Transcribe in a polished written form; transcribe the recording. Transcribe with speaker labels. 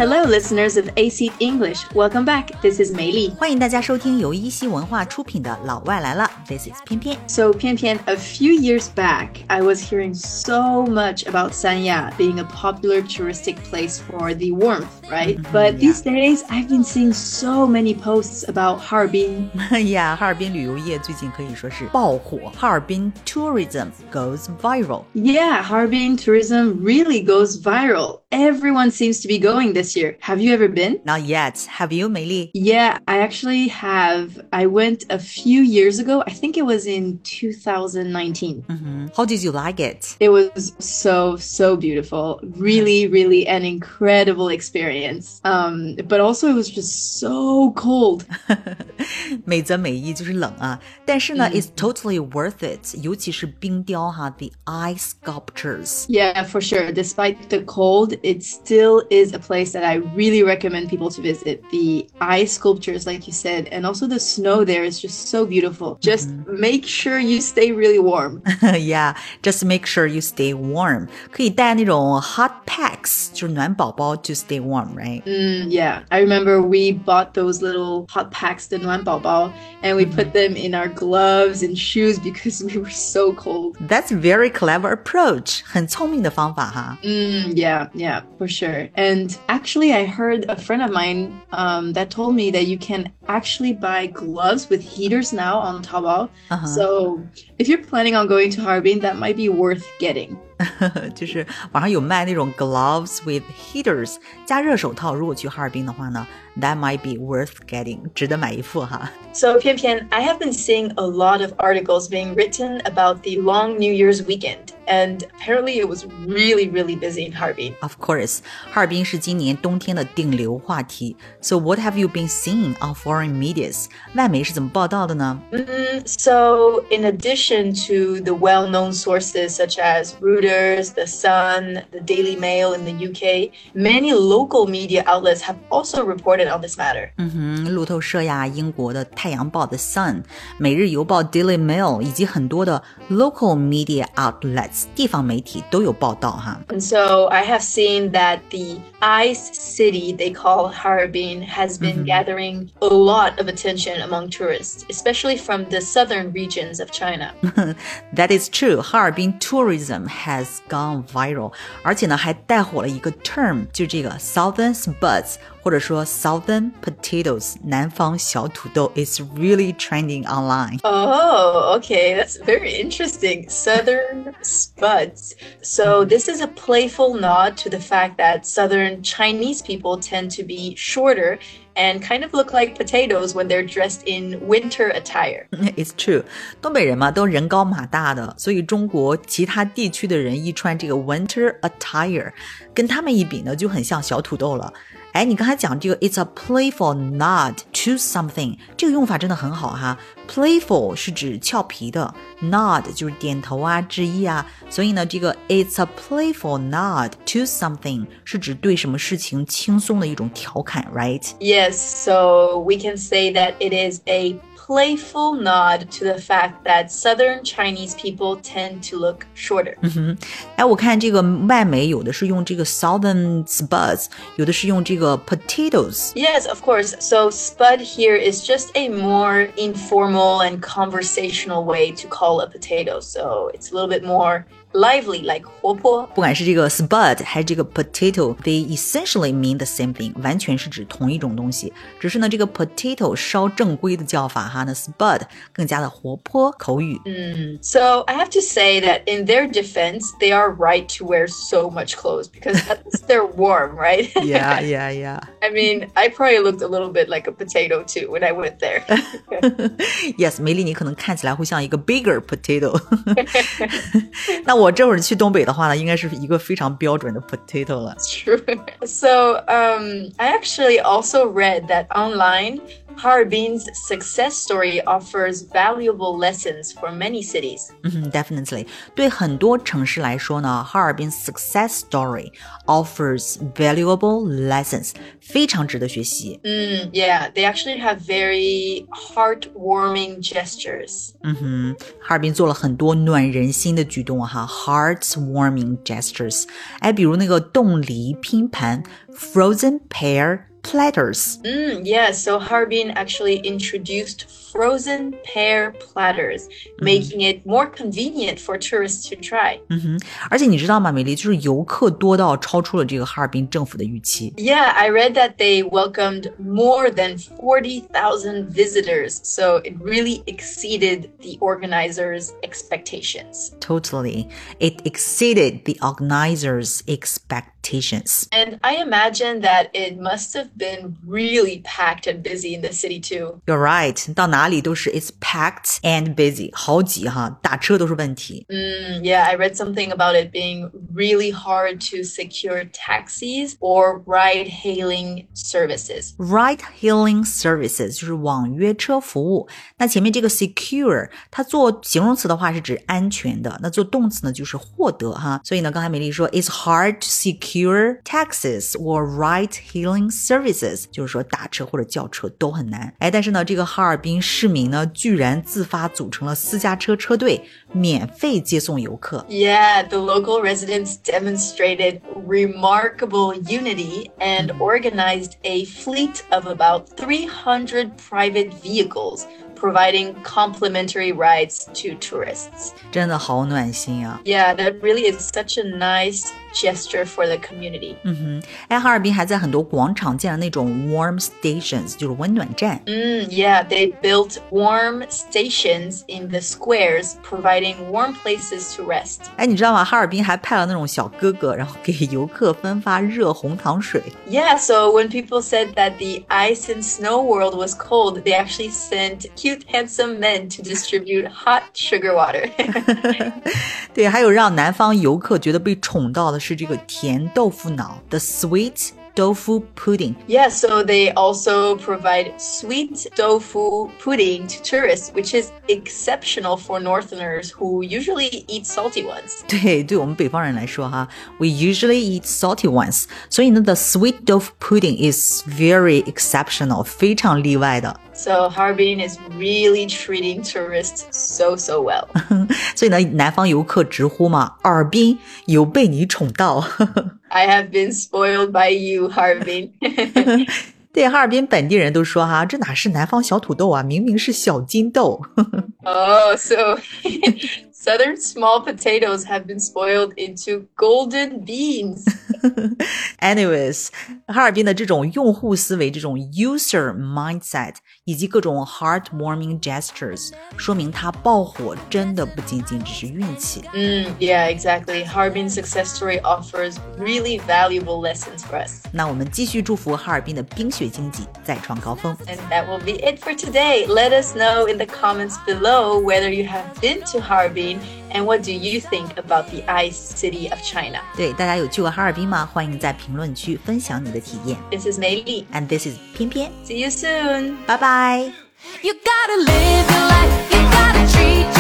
Speaker 1: Hello, listeners of AC English. Welcome back. This is 梅丽。
Speaker 2: 欢迎大家收听由一席文化出品的《老外来了》。This is 偏偏。
Speaker 1: So, 偏偏, a few years back, I was hearing so much about Sanya being a popular touristic place for the warmth, right? But these days, I've been seeing so many posts about Harbin.
Speaker 2: Yeah, 哈尔滨旅游业最近可以说是爆火。哈尔滨 tourism goes viral.
Speaker 1: Yeah, Harbin tourism really goes viral. Everyone seems to be going this year. Have you ever been?
Speaker 2: Not yet. Have you, 美丽?
Speaker 1: Yeah, I actually have. I went a few years ago. I think it was in 2019.
Speaker 2: How did you like it?
Speaker 1: It was so beautiful. Really, really an incredible experience. But also it was just so cold.
Speaker 2: 美则美意就是冷啊，但是呢，it's totally worth it. 尤其是冰雕哈 the ice sculptures.
Speaker 1: Yeah, for sure. Despite the cold, it still is a place that I really recommend people to visit. The ice sculptures, like you said, and also the snow there is just so beautiful. Just make sure you stay really warm.
Speaker 2: Yeah, just make sure you stay warm. 可以带那种 hot packs, 就是暖宝宝 to stay warm, right?
Speaker 1: Yeah, I remember we bought those little hot packs, the 暖宝宝, and we put them in our gloves and shoes because we were so cold.
Speaker 2: That's a very clever approach. 很聪明的方法哈。
Speaker 1: Yeah, for sure. And actually, I heard a friend of mine that told me that you can actually buy gloves with heaters now on Taobao. So if you're planning on going to Harbin, that might be worth getting.
Speaker 2: 就是网上有卖那种 gloves with heaters 加热手套，如果去哈尔滨的话呢 that might be worth getting 值得买一副哈。
Speaker 1: So, Pian Pian, I have been seeing a lot of articles being written about the long New Year's weekend, and apparently it was really, really busy in Harbin.
Speaker 2: Of course, 哈尔滨是今年冬天的顶流话题。So what have you been seeing on foreign medias? 外媒是怎么报道的呢？
Speaker 1: So, in addition to the well-known sources such as Reuters, The Sun, the Daily Mail in the UK, many local media outlets have also reported on this matter.
Speaker 2: 路透社呀，英国的太阳报 The Sun, 每日邮报 Daily Mail 以及很多的 local media outlets 地方媒体都有报道哈。
Speaker 1: And so I have seen that the ice city they call Harbin has been gathering a lot of attention among tourists, especially from the southern regions of China.
Speaker 2: That is true. 哈尔滨 tourism has gone viral. 而且呢，还带火了一个 term, 就这个 Southern Spuds, 或者说 Southern Potatoes, 南方小土豆 is really trending online.
Speaker 1: Oh, okay. That's very interesting. Southern Spuds. So this is a playful nod to the fact that southern Chinese people tend to be shorter and kind of look like potatoes when they're dressed in winter attire.
Speaker 2: It's true. 东北人嘛，都人高马大的，所以中国其他地区的人一穿这个 winter attire， 跟他们一比呢，就很像小土豆了。哎，你刚才讲这个 it's a playful nod to something， 这个用法真的很好哈。Playful 是指俏皮的 ，nod 就是点头啊、致意啊，所以呢，这个 it's a playful nod to something 是指对什么事情轻松的一种调侃 ，right?
Speaker 1: Yes, so we can say that it is a playful nod to the fact that southern Chinese people tend to look shorter.
Speaker 2: 哎，我看这个外媒有的是用这个 Southern Spuds， 有的是用这个 potatoes.
Speaker 1: Yes, of course. So spud here is just a more informal and conversational way to call a potato. So it's a little bit more lively, like 活泼。
Speaker 2: 不管是这个 spud 还是这个 potato, they essentially mean the same thing, 完全是指同一种东西。只是呢，这个 potato 稍正规的叫法哈，那 spud 更加的活泼口语。
Speaker 1: So I have to say that in their defense, they are right to wear so much clothes because at least they're warm, right?
Speaker 2: Yeah.
Speaker 1: I mean, I probably looked a little bit like a potato too when I went there.
Speaker 2: Yes, 梅丽你可能看起来会像一个 bigger potato. 那我这会儿去东北的话呢，应该是一个非常标准的 potato 了。
Speaker 1: True. So I actually also read that online Harbin's success story offers valuable lessons for many cities.
Speaker 2: Definitely. 对很多城市来说呢，哈尔滨 success story offers valuable lessons， 非常值得学习。
Speaker 1: Yeah, they actually have very heartwarming gestures.
Speaker 2: 哈尔滨做了很多暖人心的举动哈 ，heartwarming gestures。哎，比如那个冻梨拼盘 ，frozen pear platters.
Speaker 1: Yeah, so Harbin actually introduced frozen pear platters, making it more convenient for tourists to try.
Speaker 2: 而且你知道吗，美丽，就是游客多到超出了这个哈尔滨政府的预期。
Speaker 1: Yeah, I read that they welcomed more than 40,000 visitors, so it really exceeded the organizers' expectations.
Speaker 2: Totally. It exceeded the organizers' expectations.
Speaker 1: And I imagine that it must have been really packed and busy in the city too.
Speaker 2: You're right. 到哪里都是 it's packed and busy. 好挤哈，打车都是问题。
Speaker 1: Yeah, I read something about it being really hard to secure taxis or ride-hailing services.
Speaker 2: Ride-hailing services 就是网约车服务。那前面这个 secure 它做形容词的话是指安全的，那做动词呢就是获得哈。所以呢，刚才美丽说 it's hard to secure taxis or ride-hailing services， 就是说打车或者叫车都很难。哎，但是呢，这个哈尔滨市民呢居然自发组成了私家车车队，免费接送游客。
Speaker 1: Yeah, the local residents demonstrated remarkable unity and organized a fleet of about 300 private vehicles, providing complimentary rides to tourists.
Speaker 2: 真的好暖心啊。
Speaker 1: Yeah, that really is such a nice gesture for the community.
Speaker 2: 哎，哈尔滨还在很多广场建了那种 warm stations， 就是温暖站。
Speaker 1: Yeah, they built warm stations in the squares, providing warm places to rest.
Speaker 2: 哎，你知道吗？哈尔滨还派了那种小哥哥，然后给游客分发热红糖水。
Speaker 1: Yeah, so when people said that the ice and snow world was cold, they actually sent cute, handsome men to distribute hot sugar water.
Speaker 2: 对，还有让南方游客觉得被宠到的是这个甜豆腐脑 ，the sweet tofu pudding.
Speaker 1: Yeah, so they also provide sweet tofu pudding to tourists, which is exceptional for Northerners who usually eat salty ones.
Speaker 2: 对我们北方人来说哈 ，we usually eat salty ones. 所以呢 ，the sweet tofu pudding is very exceptional， 非常例外的。
Speaker 1: So Harbin is really treating tourists so well.
Speaker 2: 所以呢，南方游客直呼嘛，尔滨有被你宠到。
Speaker 1: I have been spoiled by you, Harbin.
Speaker 2: 对，哈尔滨本地人都说哈，这哪是南方小土豆啊，明明是小金豆。
Speaker 1: Oh, so southern small potatoes have been spoiled into golden beans.
Speaker 2: Anyways， 哈尔滨的这种用户思维，这种 user mindset， 以及各种 heartwarming gestures， 说明它爆火真的不仅仅只是运气。
Speaker 1: Yeah, exactly. Harbin's success story offers really valuable lessons for us.
Speaker 2: 那我们继续祝福哈尔滨的冰雪经济再创高峰。
Speaker 1: And that will be it for today. Let us know in the comments below whether you have been to Harbin and what do you think about the ice city of China.
Speaker 2: 对，大家有去过哈尔滨吗？欢迎在评论区分享你的体验。
Speaker 1: This is Mei Li.
Speaker 2: And this is 偏偏。
Speaker 1: See you soon.
Speaker 2: 拜拜。
Speaker 3: You gotta live your life, you gotta treat